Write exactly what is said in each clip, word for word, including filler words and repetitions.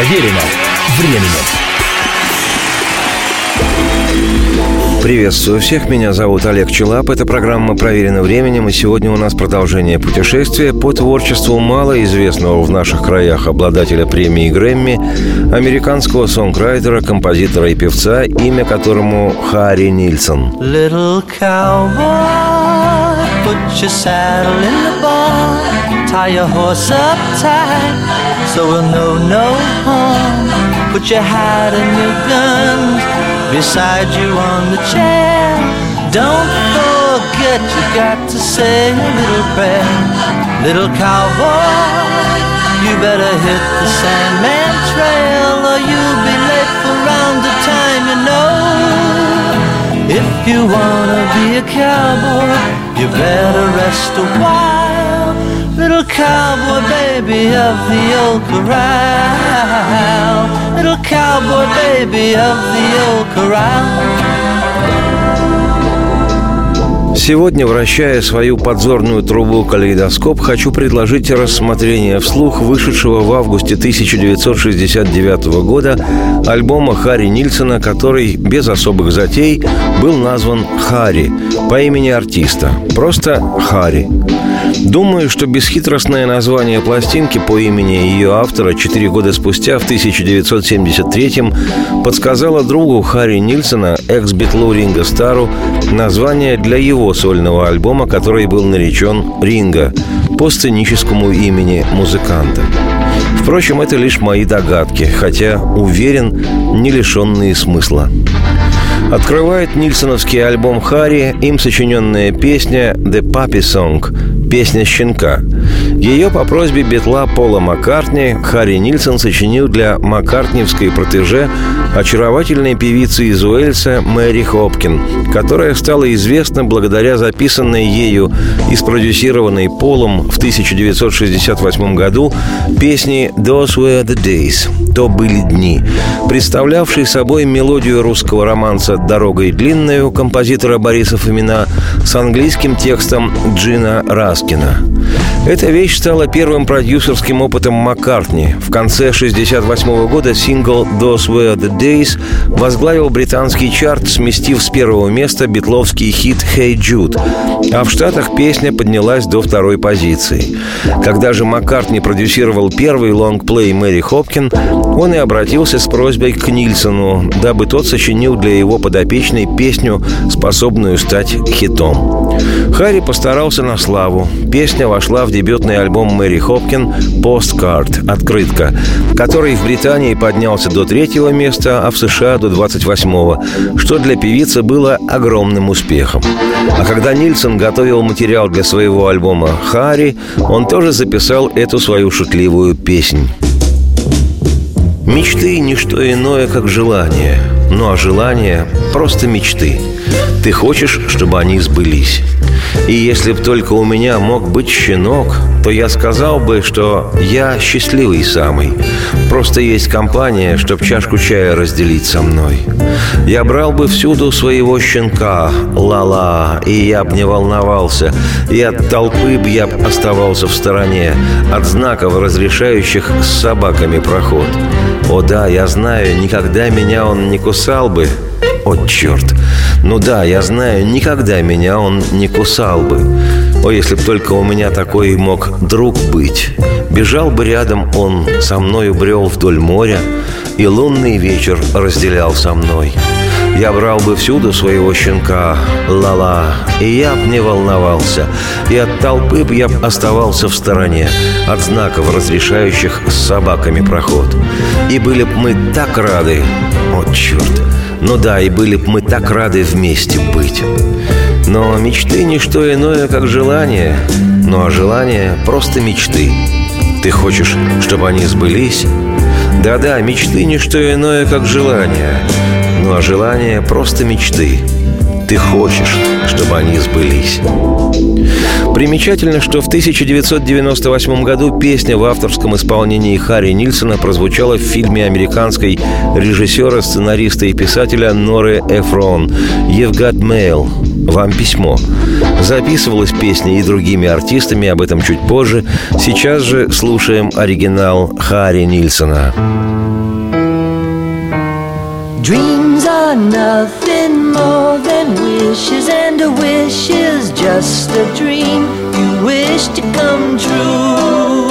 Проверено временем. Приветствую всех, меня зовут Олег Челап. Это программа «Проверено временем», и сегодня у нас продолжение путешествия по творчеству малоизвестного в наших краях обладателя премии Грэмми, американского сонграйтера, композитора и певца, имя которому Харри Нильсон. Little cowboy, put your saddle in the barn, tie your horse up tight, so we'll know no harm. Put your hat and your guns beside you on the chair. Don't forget you got to say a little prayer. Little cowboy, you better hit the Sandman Trail, or you'll be late for round the time, you know. If you wanna be a cowboy, you better rest a while. Little cowboy baby of the old corral, little cowboy baby of the old corral. Сегодня, вращая свою подзорную трубу «Калейдоскоп», хочу предложить рассмотрение вслух вышедшего в августе тысяча девятьсот шестьдесят девятого года альбома Харри Нильсона, который без особых затей был назван «Харри» по имени артиста. Просто «Харри». Думаю, что бесхитростное название пластинки по имени ее автора четыре года спустя, в тысяча девятьсот семьдесят третьем, подсказало другу Харри Нильсона, экс-битлу Ринго Старру, название для его сольного альбома, который был наречен «Ринго» по сценическому имени музыканта. Впрочем, это лишь мои догадки, хотя, уверен, не лишенные смысла. Открывает нильсоновский альбом Харри им сочиненная песня «The Puppy Song» – «Песня щенка». Ее по просьбе битла Пола Маккартни Харри Нильсон сочинил для маккартниевской протеже очаровательной певицы из Уэльса Мэри Хопкин, которая стала известна благодаря записанной ею и спродюсированной Полом в тысяча девятьсот шестьдесят восьмом году песне «Those Were the Days» – «То были дни», представлявшей собой мелодию русского романса «Дорогой длинною» композитора Бориса Фомина с английским текстом Джина Раскина. Эта вещь стала первым продюсерским опытом Маккартни. В конце шестьдесят восьмого года сингл «Those Were the Days» возглавил британский чарт, сместив с первого места битловский хит «Hey Jude», а в Штатах песня поднялась до второй позиции. Когда же Маккартни продюсировал первый лонгплей Мэри Хопкин, он и обратился с просьбой к Нильсону, дабы тот сочинил для его подопечной песню, способную стать хитом. Харри постарался на славу. Песня вошла в дебютный альбом Мэри Хопкин «Postcard» – «Открытка», который в Британии поднялся до третьего места, а в США до двадцать восьмого, что для певицы было огромным успехом. А когда Нильсон готовил материал для своего альбома «Харри», он тоже записал эту свою шутливую песнь. Мечты – не что иное, как желание. Ну а желания – просто мечты. Ты хочешь, чтобы они сбылись. И если б только у меня мог быть щенок, то я сказал бы, что я счастливый самый. Просто есть компания, чтоб чашку чая разделить со мной. Я брал бы всюду своего щенка, ла-ла, и я б не волновался. И от толпы б я б оставался в стороне, от знаков, разрешающих с собаками проход. О да, я знаю, никогда меня он не кусал бы. О, черт! Ну да, я знаю, никогда меня он не кусал бы. О, если б только у меня такой мог друг быть. Бежал бы рядом он, со мною брел вдоль моря, и лунный вечер разделял со мной. Я брал бы всюду своего щенка, ла-ла, и я б не волновался. И от толпы б я б оставался в стороне, от знаков, разрешающих с собаками проход. И были б мы так рады, о, черт! Ну да, и были б мы так рады вместе быть. Но мечты – не что иное, как желание. Ну а желание – просто мечты. Ты хочешь, чтобы они сбылись? Да-да, мечты – не что иное, как желание. Ну а желание – просто мечты. Ты хочешь, чтобы они сбылись. Примечательно, что в тысяча девятьсот девяносто восьмом году песня в авторском исполнении Харри Нильсона прозвучала в фильме американской режиссера, сценариста и писателя Норы Эфрон «You've Got Mail» – «Вам письмо». Записывалась песня и другими артистами, об этом чуть позже. Сейчас же слушаем оригинал Харри Нильсона. Dreams are nothing more than wishes, and a wish is just a dream you wish to come true.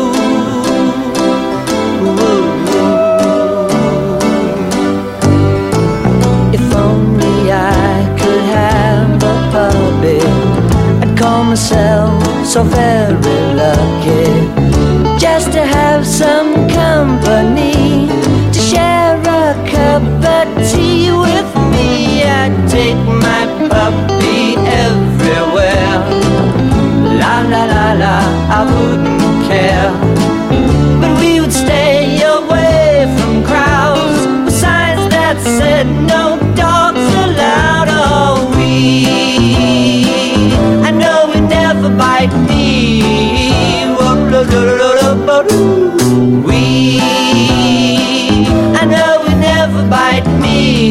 If only I could have a puppet, I'd call myself so very lucky, just to have some company, to share a cup of tea with me. I'd take my puppy everywhere. La la la la, I wouldn't care. But we would stay away from crowds with signs that said no dogs allowed. Oh, we, I know we'd never bite me. We, I know we'd never bite me.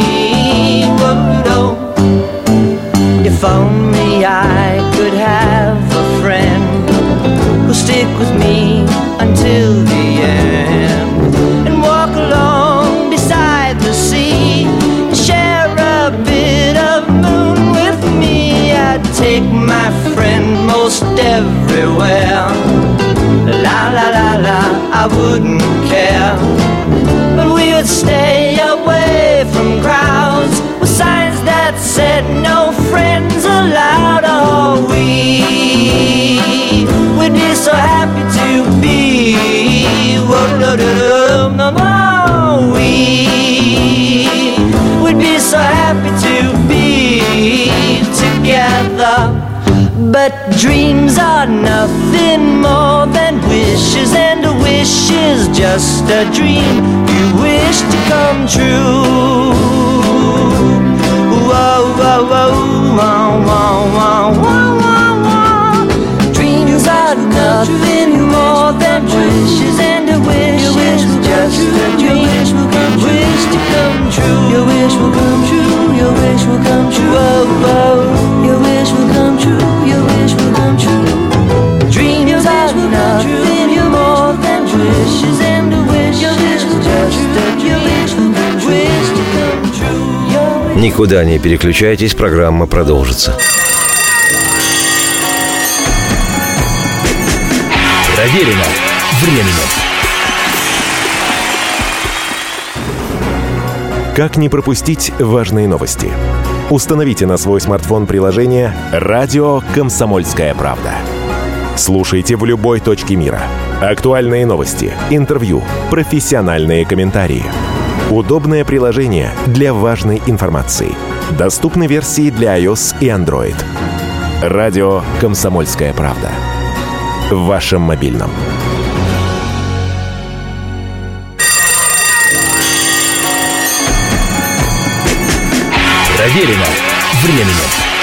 If only I could have a friend who'll stick with me until the end, and walk along beside the sea, and share a bit of moon with me. I'd take my friend most everywhere. La la la la, I wouldn't care. But we would stay away from crowds with signs that said no friends allowed. Oh, we would be so happy to be. Oh, we would be so happy to be together. But dreams are nothing more than wishes, and a wish is just a dream you wish to come true. Whoa, whoa, whoa, whoa, whoa, whoa, whoa, whoa. Dreams are nothing more than wishes, and a wish is just a dream you wish to come true. Your wish will come true. Your wish will come true. Whoa, whoa. Your wish will come true. Your wish will come true. Dreams are nothing more than wishes, and a wish is just a dream you wish to come true. Никуда не переключайтесь, программа продолжится. Проверено временем. Как не пропустить важные новости? Установите на свой смартфон приложение «Радио Комсомольская правда». Слушайте в любой точке мира. Актуальные новости, интервью, профессиональные комментарии. Удобное приложение для важной информации. Доступны версии для iOS и Android. «Радио Комсомольская правда». В вашем мобильном. Проверено временем.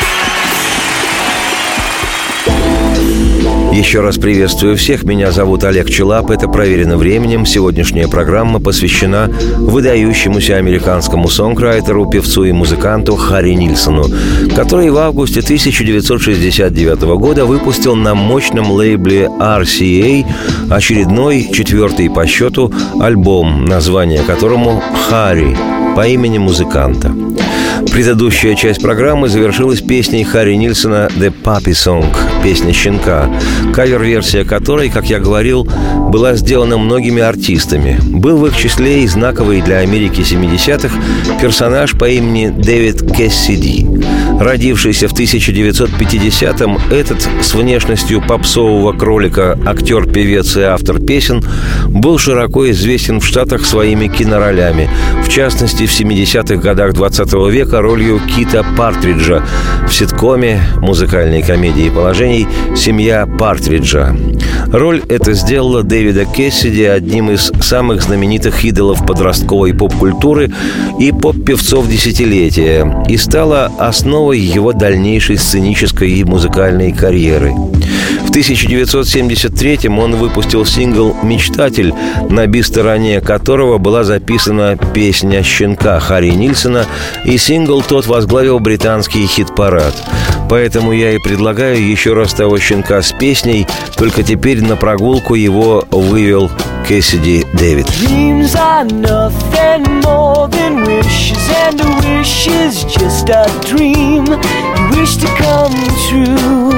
Еще раз приветствую всех. Меня зовут Олег Челап. Это «Проверено временем». Сегодняшняя программа посвящена выдающемуся американскому сонграйтеру, певцу и музыканту Харри Нильсону, который в августе тысяча девятьсот шестьдесят девятого года выпустил на мощном лейбле ар си эй очередной, четвертый по счету, альбом, название которому «Харри» по имени музыканта. Предыдущая часть программы завершилась песней Харри Нильсона «The Puppy Song» – «Песня щенка», кавер-версия которой, как я говорил, была сделана многими артистами. Был в их числе и знаковый для Америки семидесятых персонаж по имени Дэвид Кэссиди. Родившийся в тысяча девятьсот пятидесятом, этот с внешностью попсового кролика актер, певец и автор песен был широко известен в Штатах своими киноролями, в частности, в семидесятых годах двадцатого века ролью Кита Партриджа в ситкоме музыкальной комедии положений «Семья Партриджа». Роль эта сделала Дэвида Кэссиди одним из самых знаменитых идолов подростковой поп-культуры и поп-певцов десятилетия и стала основой его дальнейшей сценической и музыкальной карьеры. В тысяча девятьсот семьдесят третьем он выпустил сингл «Мечтатель», на би-стороне которого была записана песня щенка Харри Нильсона, и сингл тот возглавил британский хит-парад. Поэтому я и предлагаю еще раз того щенка с песней, только теперь на прогулку его вывел Кэссиди Дэвид. Dreams are nothing more than wishes, and a wish is just a dream you wish to come true.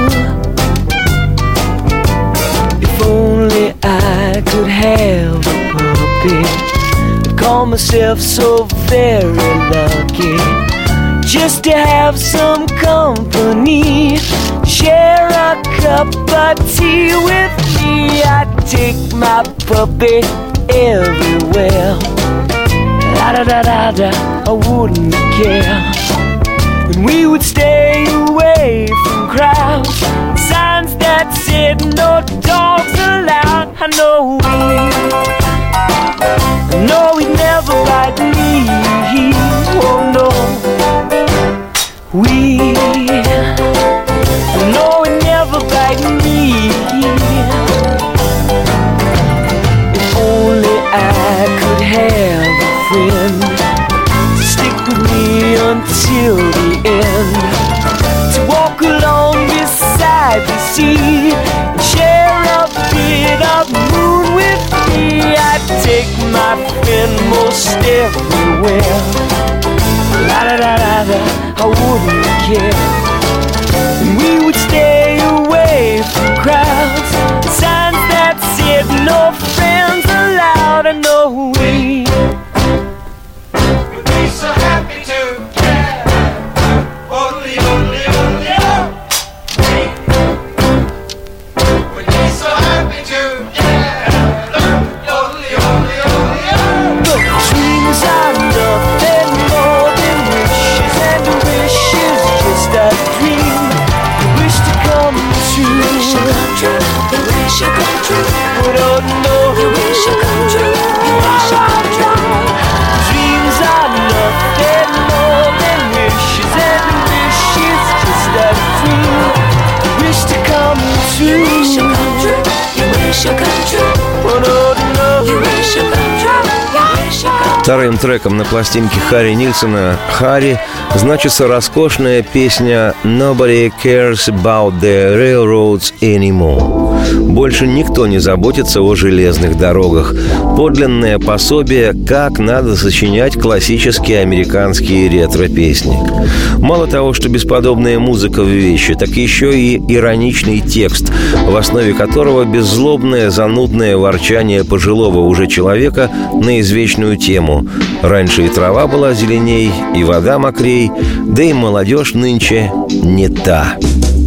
If only I could have a puppy, I'd call myself so very lucky. Just to have some company, share a cup of tea with me. I'd take my puppy everywhere. La da da da da, I wouldn't care. And we would stay away from crowds, signs that said no dogs allowed. I know we, I know he'd never bite me. Oh no. We know it never bite me. If only I could have a friend to stick with me until the end, to walk along beside the sea and share a bit of moon with me. I'd take my friend most everywhere. La da da da da, I wouldn't care. And we would stay away from crowds, signs that said no friends allowed. I know we would be so happy together. Only, only, only, oh. We'd be so happy together. Only, only, only, oh. But dreams are nothing more than wishes, and a wish is just a dream you wish to come true. You wish to come true. You wish to come true. But oh no, you wish to come true. You wish to come true. Dreams are nothing more than wishes, and a wish is just a dream you wish to come true. You wish to come true. You wish to come true. But oh no, you wish to come true. Вторым треком на пластинке Харри Нильсона «Харри» значится роскошная песня «Nobody cares about the railroads anymore». Больше никто не заботится о железных дорогах. Подлинное пособие, как надо сочинять классические американские ретро-песни. Мало того, что бесподобная музыка в вещи, так еще и ироничный текст, в основе которого беззлобное занудное ворчание пожилого уже человека на извечную тему: раньше и трава была зеленей, и вода мокрей, да и молодежь нынче не та.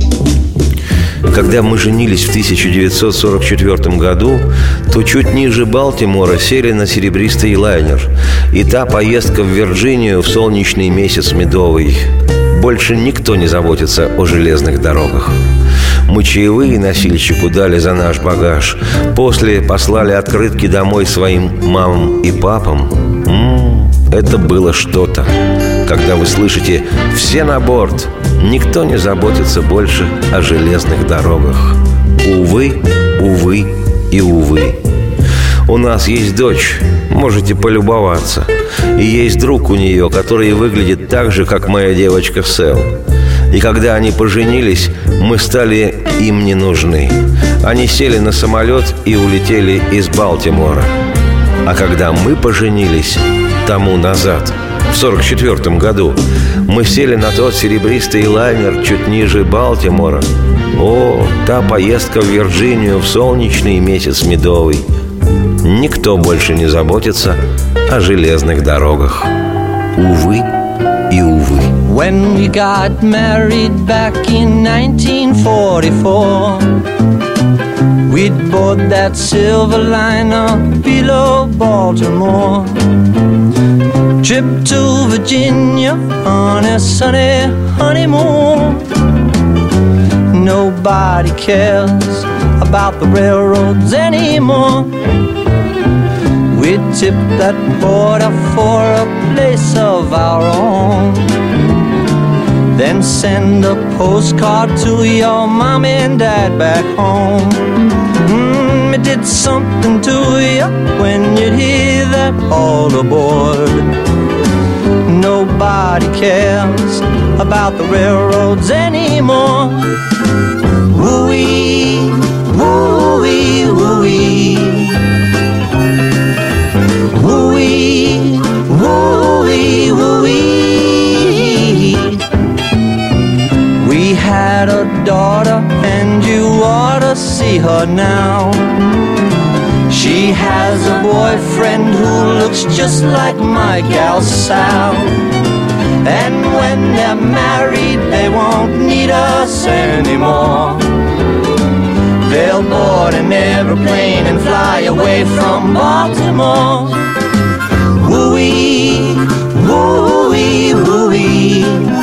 Когда мы женились в тысяча девятьсот сорок четвёртом году, то чуть ниже Балтимора сели на серебристый лайнер. И та поездка в Вирджинию в солнечный месяц медовый. Больше никто не заботится о железных дорогах. Мы чаевые носильщику дали за наш багаж. После послали открытки домой своим мамам и папам. М-м, это было что-то. Когда вы слышите «все на борт», никто не заботится больше о железных дорогах. Увы, увы и увы. У нас есть дочь, можете полюбоваться. И есть друг у нее, который выглядит так же, как моя девочка Сэл. И когда они поженились, мы стали им не нужны. Они сели на самолет и улетели из Балтимора. А когда мы поженились тому назад, в сорок четвёртом году, мы сели на тот серебристый лайнер чуть ниже Балтимора. О, та поездка в Вирджинию в солнечный месяц медовый. Никто больше не заботится о железных дорогах. Увы и увы. When we got married back in nineteen forty-four, we'd board that silver liner below Baltimore. Trip to Virginia on a sunny honeymoon. Nobody cares about the railroads anymore. We tip that border for a place of our own, then send a postcard to your mom and dad back home. Mm, it did something to you when you'd hear that all aboard. Nobody cares about the railroads anymore. Woo-wee, woo-wee, woo-wee. Woo-wee, woo-wee, woo-wee. We had a daughter and you ought to see her now. She has a boyfriend who looks just like my gal Sal. And when they're married, they won't need us anymore. They'll board an airplane and fly away from Baltimore. Woo-wee, woo-wee, woo-wee.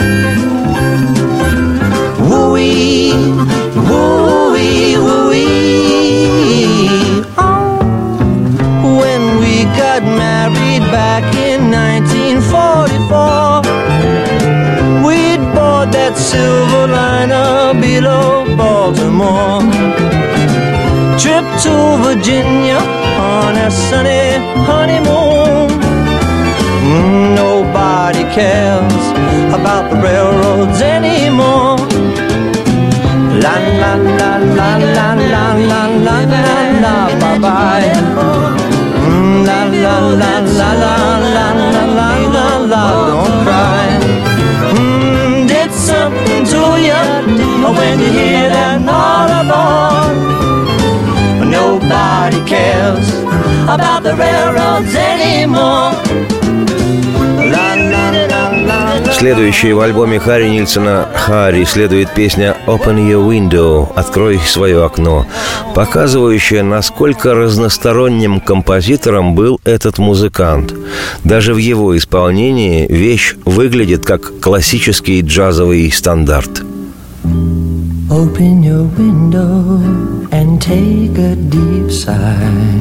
Woo-wee, woo-wee, woo-wee. Oh, when we got married back in nineteen forty-four, we'd board that silver liner below Baltimore. Trip to Virginia on a sunny honeymoon. Mm, nobody cares about the railroads anymore. La la la la la la la la la la, bye bye. Mm, la la la la la la la la la la, don't cry. Mm, did something to you when you hear that all aboard? Nobody cares about the railroads anymore. Следующей в альбоме Харри Нильсона «Харри» следует песня «Open Your Window» – «Открой свое окно», показывающая, насколько разносторонним композитором был этот музыкант. Даже в его исполнении вещь выглядит как классический джазовый стандарт. Open your window and take a deep sigh.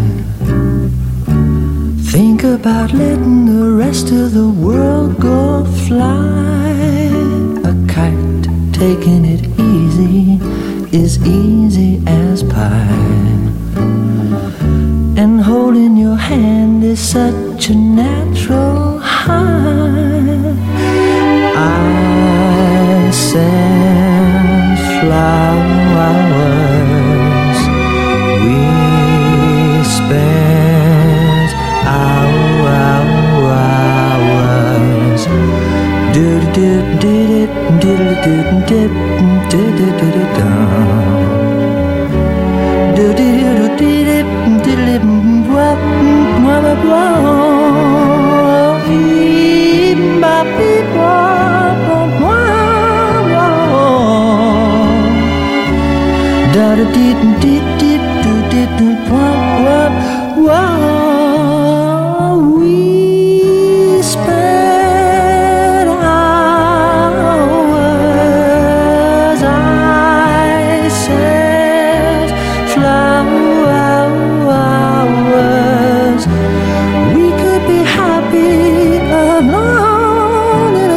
Think about letting the rest of the world go fly. A kite, taking it easy, is easy as pie. And holding your hand is such a natural high. I send flowers, we spend hours. Do do do do do do do do do do do do we spent hours. I said flowers. We could be happy alone in a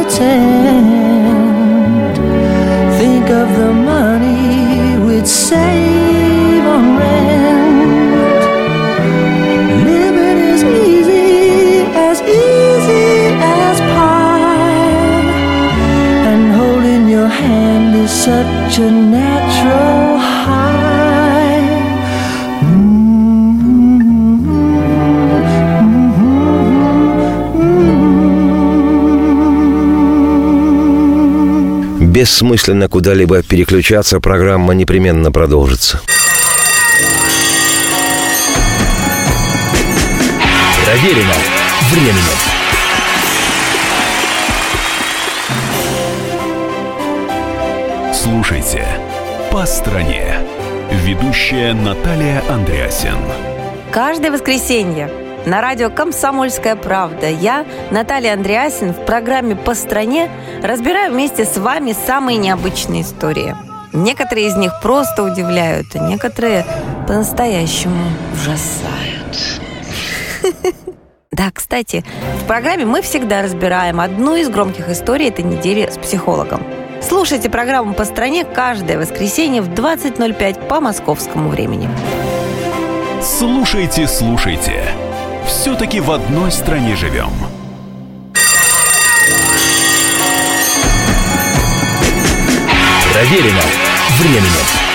tent. Think of the money we'd save on rent. Living is easy, as easy as pie. And holding your hand is such a natural high. Бессмысленно куда-либо переключаться, программа непременно продолжится. Проверено временем. Слушайте «По стране». Ведущая Наталья Андреасен. Каждое воскресенье на радио «Комсомольская правда» я, Наталья Андреасен, в программе «По стране» разбираю вместе с вами самые необычные истории. Некоторые из них просто удивляют, а некоторые по-настоящему ужасают. Да, кстати, в программе мы всегда разбираем одну из громких историй этой недели с психологом. Слушайте программу «По стране» каждое воскресенье в двадцать ноль пять по московскому времени. Слушайте, слушайте. Все-таки в одной стране живем. Проверено временем.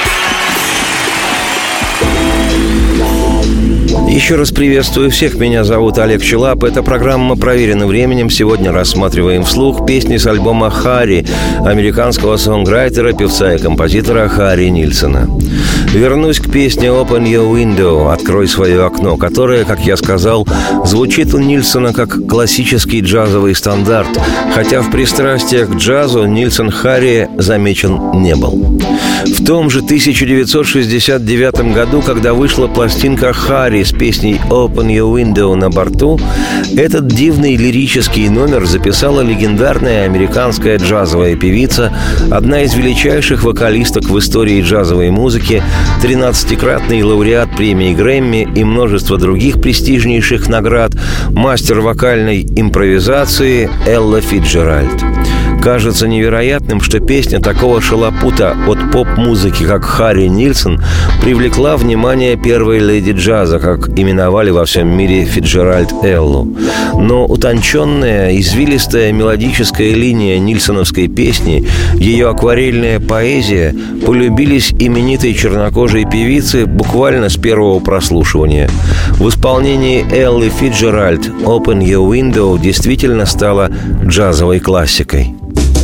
Еще раз приветствую всех. Меня зовут Олег Челап. Это программа «Проверено временем». Сегодня рассматриваем вслух песни с альбома «Харри» американского сонграйтера, певца и композитора Харри Нильсона. Вернусь к песне «Open Your Window» «Открой свое окно», которая, как я сказал, звучит у Нильсона как классический джазовый стандарт, хотя в пристрастиях к джазу Нильсон Харри замечен не был. В том же тысяча девятьсот шестьдесят девятом году, когда вышла пластинка «Харри» с песней «Open Your Window» на борту, этот дивный лирический номер записала легендарная американская джазовая певица, одна из величайших вокалисток в истории джазовой музыки, тринадцатикратный лауреат премии Грэмми и множество других престижнейших наград, мастер вокальной импровизации Элла Фицджеральд. Кажется невероятным, что песня такого шалопута от поп-музыки, как Харри Нильсон, привлекла внимание первой леди джаза, как именовали во всем мире Фицджеральд Эллу. Но утонченная, извилистая мелодическая линия нильсоновской песни, ее акварельная поэзия полюбились именитой чернокожей певице буквально с первого прослушивания. В исполнении Эллы Фицджеральд «Open Your Window» действительно стала джазовой классикой.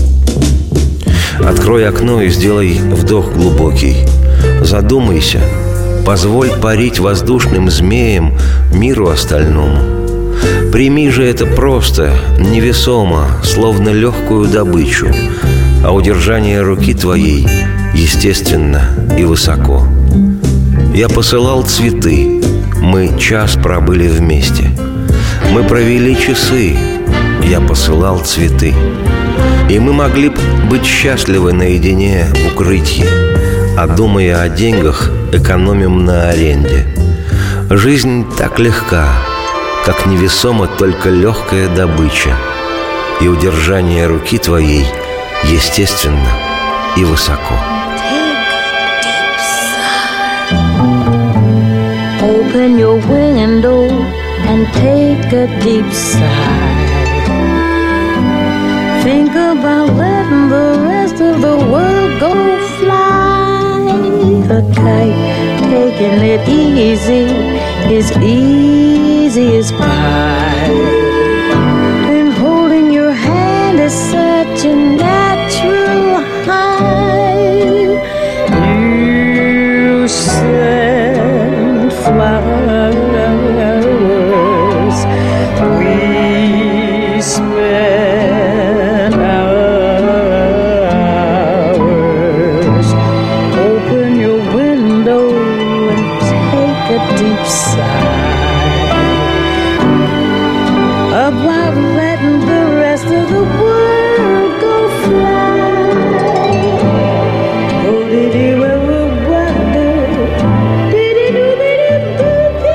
Открой окно и сделай вдох глубокий. Задумайся, позволь парить воздушным змеям миру остальному. Прими же это просто, невесомо, словно легкую добычу, а удержание руки твоей естественно и высоко. Я посылал цветы, мы час пробыли вместе. Мы провели часы, я посылал цветы. И мы могли бы быть счастливы наедине в укрытии, а думая о деньгах, экономим на аренде. Жизнь так легка, как невесома только легкая добыча, и удержание руки твоей естественно и высоко. Open your window and take a deep sigh. Think about letting the rest of the world go fly. A kite, taking it easy, is easy as pie. And holding your hand is such a natural high. You send flowers, we spend hours. Open your window and take a deep sigh about letting the rest of the world go fly. Oh, did you ever wonder? Did you do, did you do,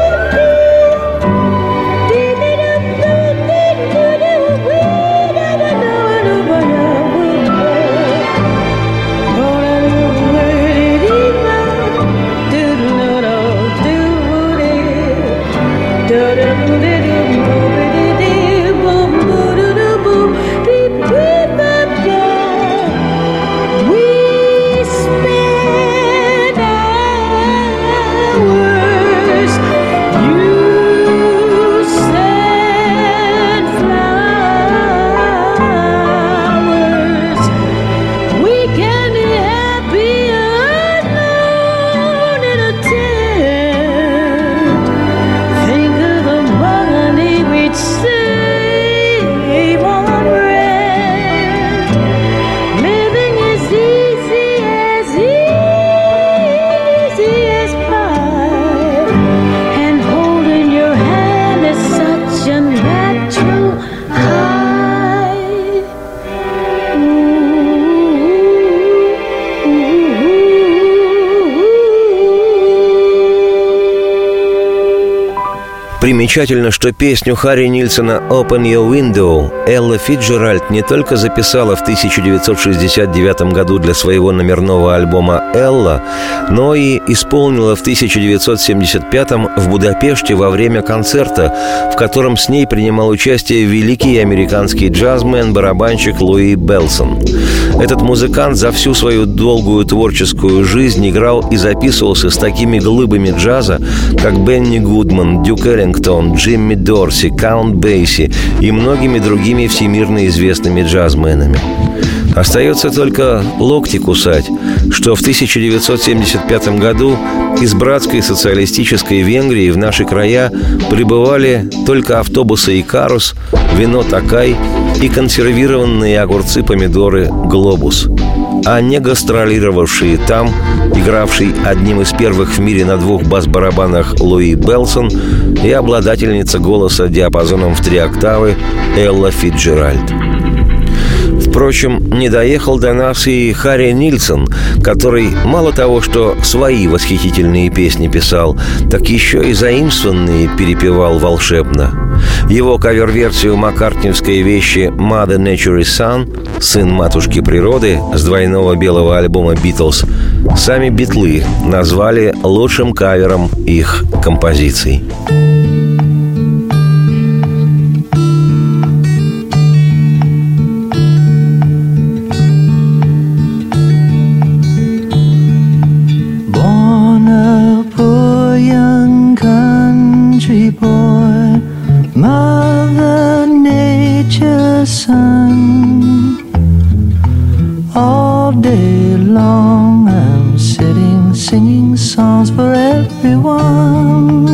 did you do, did you do, did you do, we never know it, but I will go. Oh, did you ever, do, do, do, do, do, do, do, do, do, do, do, do, Примечательно, что песню Харри Нильсона «Open Your Window» Элла Фицджеральд не только записала в тысяча девятьсот шестьдесят девятом году для своего номерного альбома «Элла», но и исполнила в тысяча девятьсот семьдесят пятом в Будапеште во время концерта, в котором с ней принимал участие великий американский джазмен, барабанщик Луи Белсон. Этот музыкант за всю свою долгую творческую жизнь играл и записывался с такими глыбами джаза, как Бенни Гудман, Дюк Эллингтон, Джимми Дорси, Каунт Бейси и многими другими всемирно известными джазменами. Остается только локти кусать, что в тысяча девятьсот семьдесят пятом году из братской социалистической Венгрии в наши края прибывали только автобусы «Икарус», вино «Такай» и консервированные огурцы-помидоры «Глобус». А не гастролировавшие там, игравший одним из первых в мире на двух бас-барабанах Луи Белсон и обладательница голоса диапазоном в три октавы Элла Фицджеральд. Впрочем, не доехал до нас и Харри Нильсон, который мало того, что свои восхитительные песни писал, так еще и заимствованные перепевал волшебно. Его кавер-версию маккартниевской вещи «Mother Nature is Son» «Сын матушки природы» с двойного белого альбома «Битлз» сами битлы назвали лучшим кавером их композиций. Boy, Mother Nature's son. All day long I'm sitting singing songs for everyone.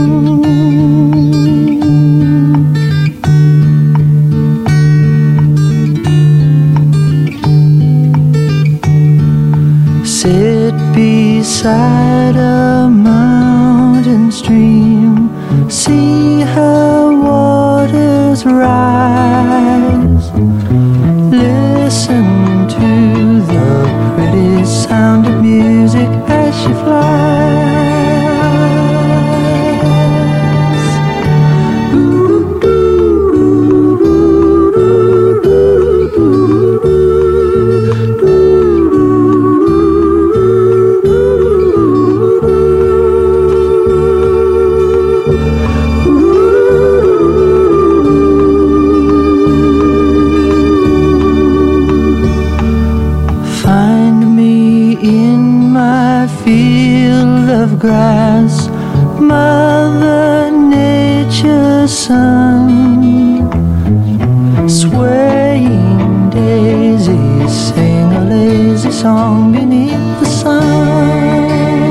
Sit beside a mountain stream, see her waters rise, listen to the pretty sound of music as she flies. Grass, Mother Nature's son. Swaying daisies sing a lazy song beneath the sun.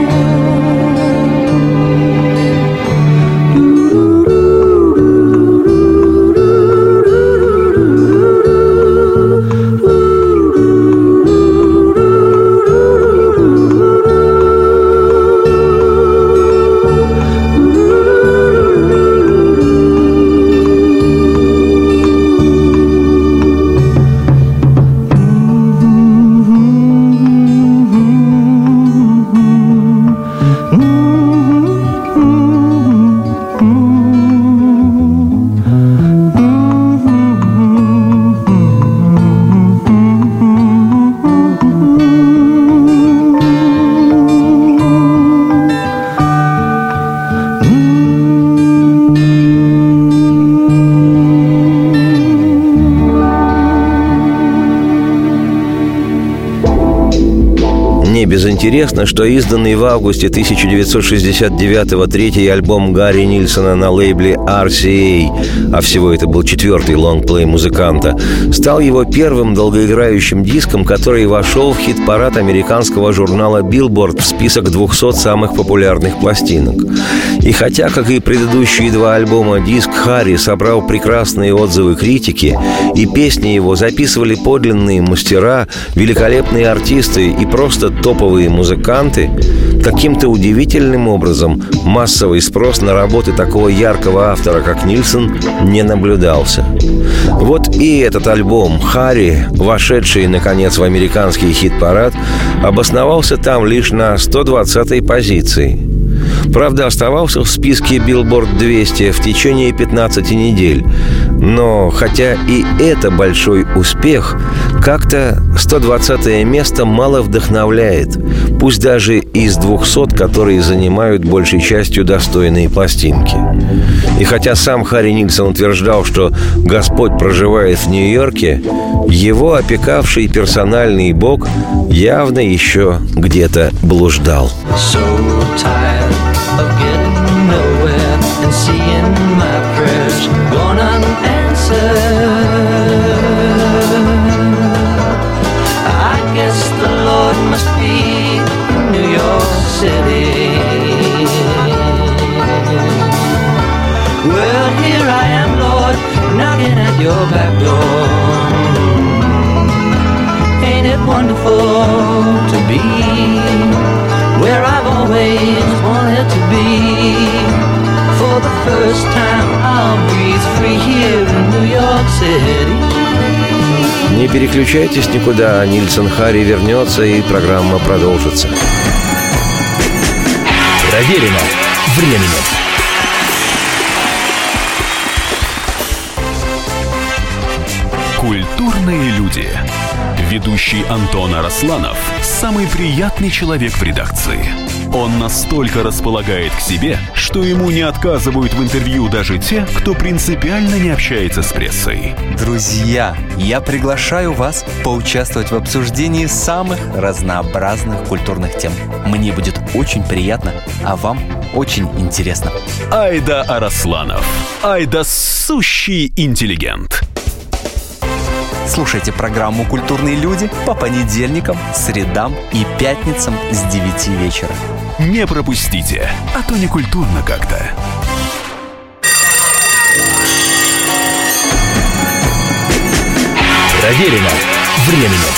Интересно, что изданный в августе тысяча девятьсот шестьдесят девятого третий альбом Гарри Нильсона на лейбле ар си эй, а всего это был четвертый лонгплей музыканта, стал его первым долгоиграющим диском, который вошел в хит-парад американского журнала Billboard в список двухсот самых популярных пластинок. И хотя, как и предыдущие два альбома, диск Харри собрал прекрасные отзывы критики, и песни его записывали подлинные мастера, великолепные артисты и просто топовые музыканты, каким-то удивительным образом массовый спрос на работы такого яркого автора, как Нильсон, не наблюдался. Вот и этот альбом «Харри», вошедший, наконец, в американский хит-парад, обосновался там лишь на сто двадцатой позиции. Правда, оставался в списке Billboard двести в течение пятнадцати недель. Но хотя и это большой успех, как-то сто двадцатое место мало вдохновляет, пусть даже из двухсот, которые занимают большей частью достойные пластинки. И хотя сам Харри Нильсон утверждал, что Господь проживает в Нью-Йорке, его опекавший персональный бог явно еще где-то блуждал. So tired of getting nowhere and seeing my prayers gone unanswered. I guess the Lord must be in New York City. Well, here I am, Lord, knocking at your back door. Ain't it wonderful to be where I've always wanted to be? For the first time I'll breathe free here in New York City. Не переключайтесь никуда, Нильсон Харри вернется, и программа продолжится. Проверено временем. Культурные люди. Ведущий Антон Арасланов – самый приятный человек в редакции. Он настолько располагает к себе, что ему не отказывают в интервью даже те, кто принципиально не общается с прессой. Друзья, я приглашаю вас поучаствовать в обсуждении самых разнообразных культурных тем. Мне будет очень приятно, а вам очень интересно. Айда Арасланов. Айда сущий интеллигент. Слушайте программу «Культурные люди» по понедельникам, средам и пятницам с девяти вечера. Не пропустите, а то не культурно как-то. Проверено временем.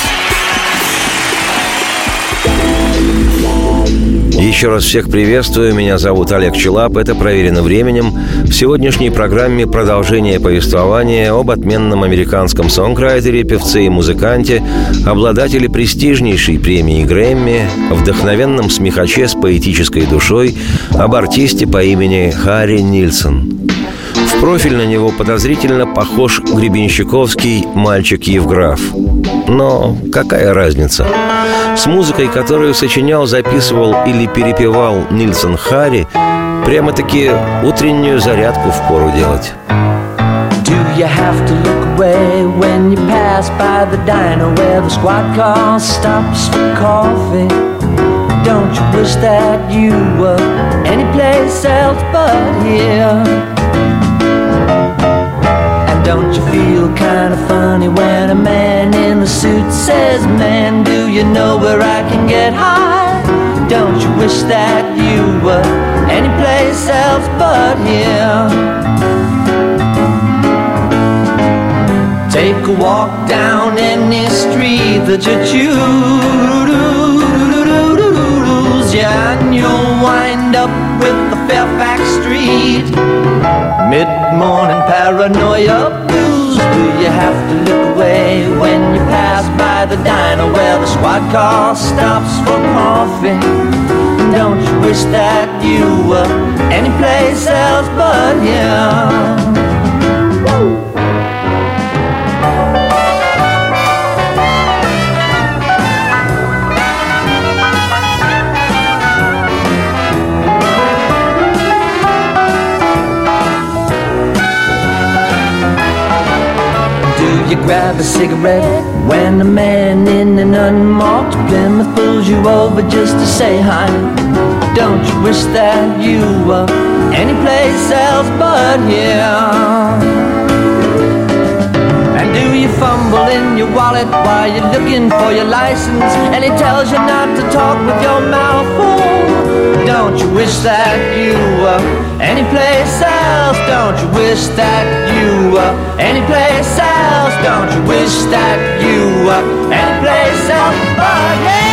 Еще раз всех приветствую. Меня зовут Олег Челап. Это «Проверено временем». В сегодняшней программе продолжение повествования об отменном американском сонграйтере, певце и музыканте, обладателе престижнейшей премии Грэмми, вдохновенном смехаче с поэтической душой, об артисте по имени Харри Нильсон. В профиль на него подозрительно похож гребенщиковский мальчик Евграф. Но какая разница? С музыкой, которую сочинял, записывал или перепевал Нильсон Харри, прямо-таки утреннюю зарядку впору делать. Do you have to look away when you pass by the diner where the squad car stops for coffee? Don't you wish that you were anyplace else but here? Don't you feel kind of funny when a man in the suit says, man, do you know where I can get high? Don't you wish that you were anyplace else but here? Take a walk down any street that you choose, yeah, and you'll wind up with the Fairfax Street mid-morning paranoia blues. Do you have to look away when you pass by the diner where the squad car stops for coffee? Don't you wish that you were anyplace else but here? You grab a cigarette when a man in an unmarked Plymouth pulls you over just to say hi. Don't you wish that you were anyplace else but here? And do you fumble in your wallet while you're looking for your license and he tells you not to talk with your mouth full? Don't you wish that you were anyplace else? Don't you wish that you were anyplace else? Don't you wish that you were anyplace else but here?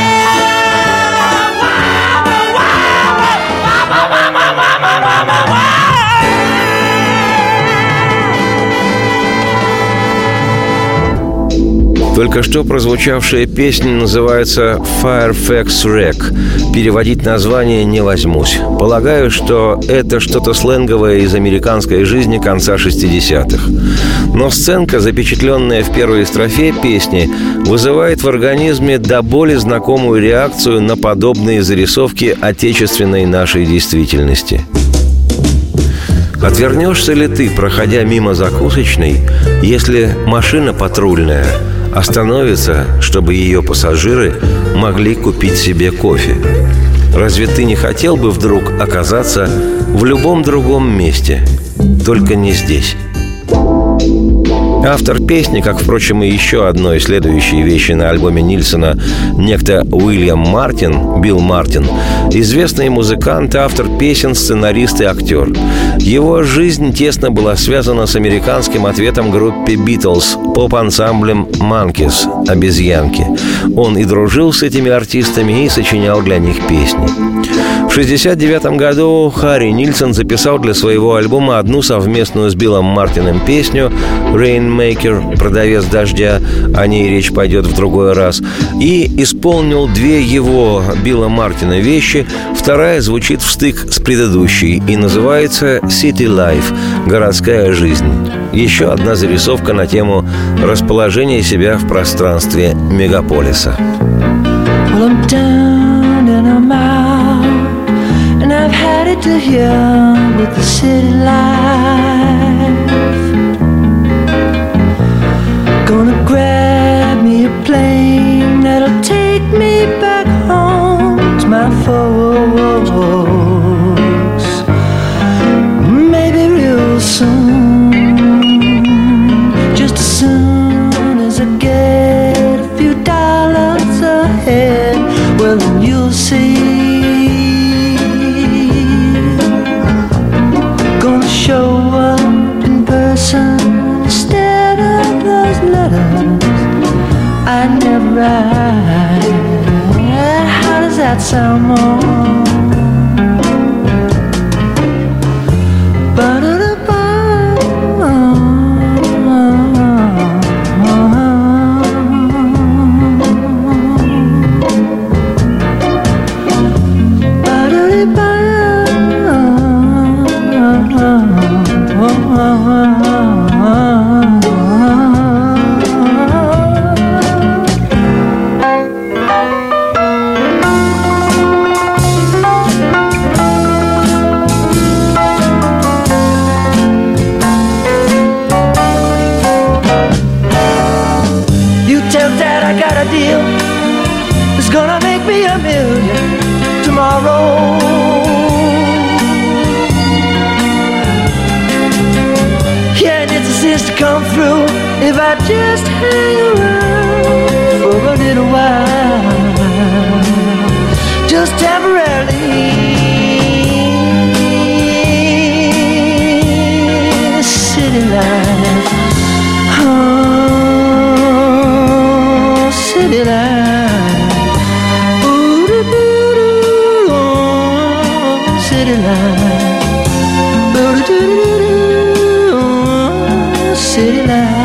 Только что прозвучавшая песня называется «Fairfax Rec». Переводить название не возьмусь. Полагаю, что это что-то сленговое из американской жизни конца шестидесятых. Но сценка, запечатленная в первой строфе песни, вызывает в организме до боли знакомую реакцию на подобные зарисовки отечественной нашей действительности. Отвернешься ли ты, проходя мимо закусочной, если машина патрульная остановится, чтобы ее пассажиры могли купить себе кофе? Разве ты не хотел бы вдруг оказаться в любом другом месте, только не здесь? Автор песни, как, впрочем, и еще одной следующей вещи на альбоме Нильсона, некто Уильям Мартин, Билл Мартин, известный музыкант, автор песен, сценарист и актер. Его жизнь тесно была связана с американским ответом группе «Битлз», поп-ансамблем «Манкис» — «Обезьянки». Он и дружил с этими артистами и сочинял для них песни. В шестьдесят девятом году Харри Нильсон записал для своего альбома одну совместную с Биллом Мартином песню «Rainmaker» — «Продавец дождя», о ней речь пойдет в другой раз, и исполнил две его, Билла Мартина, вещи. Вторая звучит в стык с предыдущей и называется «City Life» — «Городская жизнь». Еще одна зарисовка на тему расположения себя в пространстве мегаполиса. Well, I'm down and I'm out, and I've had it to here with the city life. Gonna grab me a plane that'll take me back home to my folks. Maybe real soon, just as soon as I get a few dollars ahead. Well, then you'll see. Gonna show up in person instead of those letters I never write. How does that sound, more? If I just hang around for a little while, just temporarily, city life, oh, city life, ooh, doo, doo, doo, oh, city life, ooh, doo, doo, doo, doo, oh, city life.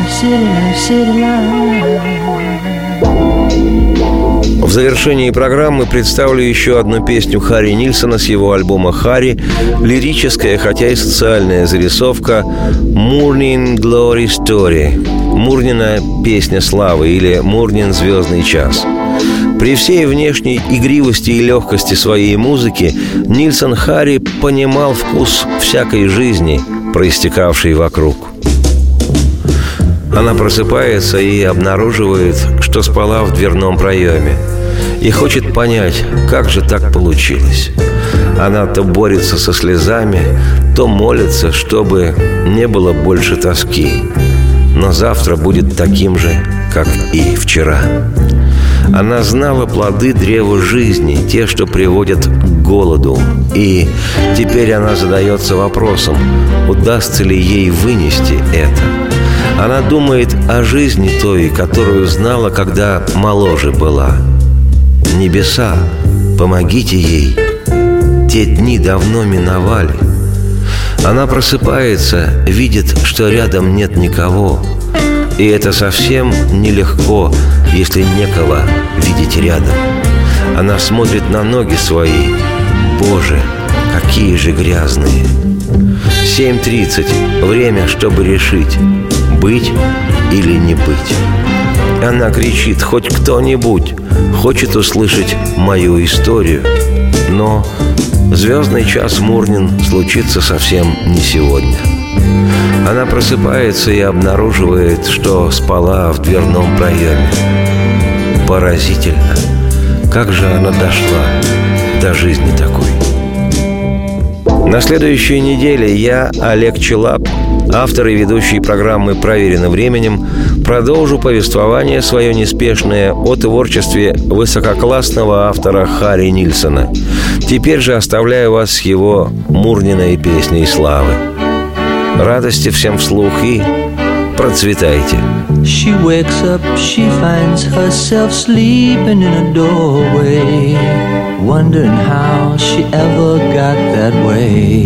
В завершении программы представлю еще одну песню Харри Нильсона с его альбома «Харри», лирическая, хотя и социальная зарисовка «Morning Glory Story» — «Мурнина песня славы» или «Мурнин звездный час». При всей внешней игривости и легкости своей музыки Нильсон Харри понимал вкус всякой жизни, проистекавшей вокруг. Она просыпается и обнаруживает, что спала в дверном проеме, и хочет понять, как же так получилось. Она то борется со слезами, то молится, чтобы не было больше тоски. Но завтра будет таким же, как и вчера. Она знала плоды древа жизни, те, что приводят к голоду. И теперь она задается вопросом, удастся ли ей вынести это. Она думает о жизни той, которую знала, когда моложе была. Небеса, помогите ей. Те дни давно миновали. Она просыпается, видит, что рядом нет никого, И это совсем нелегко, если некого видеть рядом. Она смотрит на ноги свои. Боже, какие же грязные. семь тридцать. Время, чтобы решить, быть или не быть. Она кричит: хоть кто-нибудь хочет услышать мою историю. Но звездный час Мурнин случится совсем не сегодня. Она просыпается и обнаруживает, что спала в дверном проеме. Поразительно, как же она дошла до жизни такой. На следующей неделе я, Олег Челап, автор и ведущий программы «Проверено временем», продолжу повествование свое неспешное о творчестве высококлассного автора Харри Нильсона. Теперь же оставляю вас с его Мурниной песней славы. Радости всем вслух и процветайте. She wakes up, she finds herself sleeping in a doorway, wondering how she ever got that way.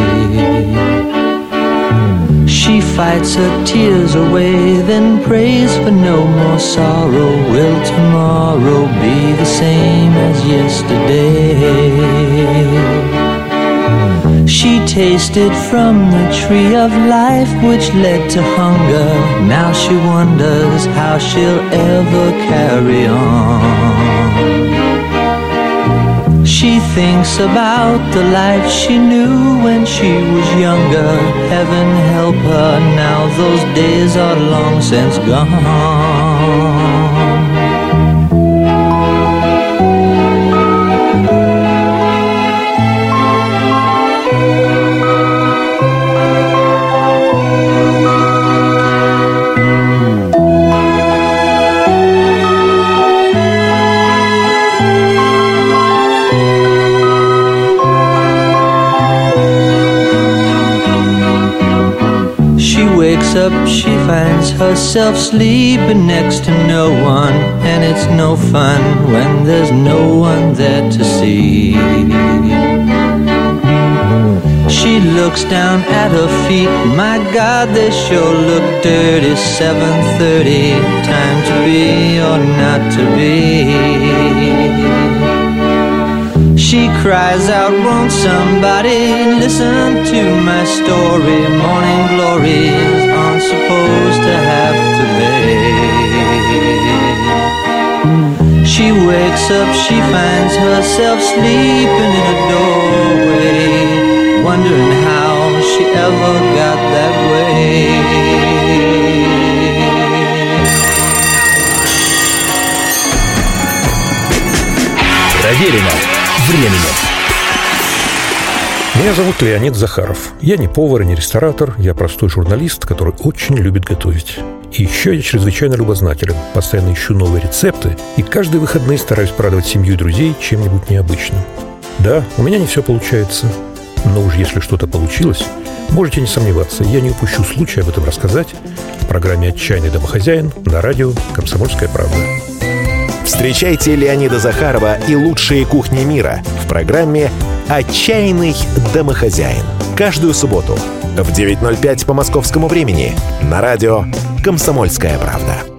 She fights her tears away, then prays for no more sorrow. Will tomorrow be the same as yesterday? She tasted from the tree of life which led to hunger. Now she wonders how she'll ever carry on. She thinks about the life she knew when she was younger. Heaven help her, now those days are long since gone. Up, she finds herself sleeping next to no one, and it's no fun when there's no one there to see. She looks down at her feet, my God, they sure look dirty. seven thirty, time to be or not to be. She cries out, won't somebody listen to my story? Morning glories aren't supposed to have to be. She wakes up, she finds herself sleeping in a doorway, wondering how she ever got that way. Проверено временем. Меня зовут Леонид Захаров. Я не повар и не ресторатор, я простой журналист, который очень любит готовить. И еще я чрезвычайно любознателен, постоянно ищу новые рецепты и каждые выходные стараюсь порадовать семью и друзей чем-нибудь необычным. Да, у меня не все получается, но уж если что-то получилось, можете не сомневаться, я не упущу случая об этом рассказать в программе «Отчаянный домохозяин» на радио «Комсомольская правда». Встречайте Леонида Захарова и лучшие кухни мира в программе «Отчаянный домохозяин». Каждую субботу в девять ноль пять по московскому времени на радио «Комсомольская правда».